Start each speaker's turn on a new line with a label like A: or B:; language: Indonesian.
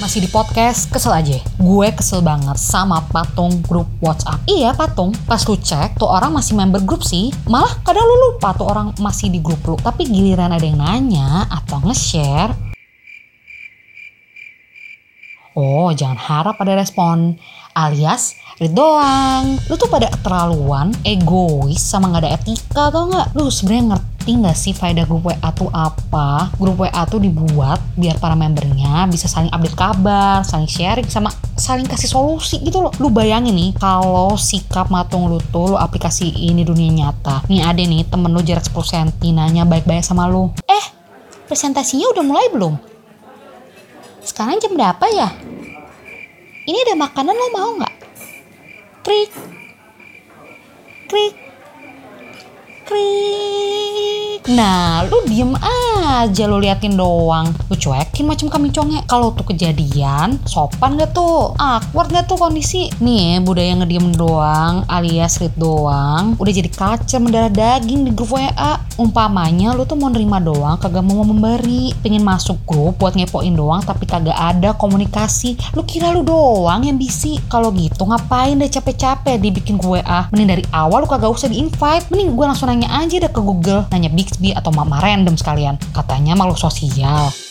A: Masih di podcast, kesel aja. Gue kesel banget sama Patung grup WhatsApp. Iya Patung, pas lu cek tuh orang masih member grup sih. Malah kadang lu lupa tuh orang masih di grup lu. Tapi giliran ada yang nanya atau nge-share, oh jangan harap ada respon. Alias, read doang. Lu tuh pada keterlaluan, egois, sama gak ada etika tau gak? Lu sebenarnya ngerti gak sih faedah grup WA tuh apa? Grup WA tuh dibuat biar para membernya bisa saling update kabar, saling sharing, sama saling kasih solusi gitu loh. Lu bayangin nih, kalau sikap Matung lu tuh lu aplikasiin di dunia nyata. Nih ada nih temen lu jarak 10 cm nanya baik-baik sama lu. Presentasinya udah mulai belum? Sekarang jam berapa ya? Ini ada makanan, lo mau nggak? Krik, krik, krik. Nah, lu diem aja, lu liatin doang. Lu cuekin macam kambing conge. Kalau tuh kejadian, sopan gak tuh? Awkward gak tuh kondisi? Nih, budaya ngediem doang, alias read doang, udah jadi culture mendarah daging di grup WA. Umpamanya lu tuh mau nerima doang, kagak mau memberi. Pengen masuk grup buat ngepoin doang, tapi kagak ada komunikasi. Lu kira lu doang yang busy? Kalau gitu ngapain deh capek-capek dibikin gue WA? Mending dari awal lu kagak usah di-invite. Mending gue langsung nanya aja deh ke Google. Nanya Bixby atau Mama Random sekalian. Katanya makhluk sosial.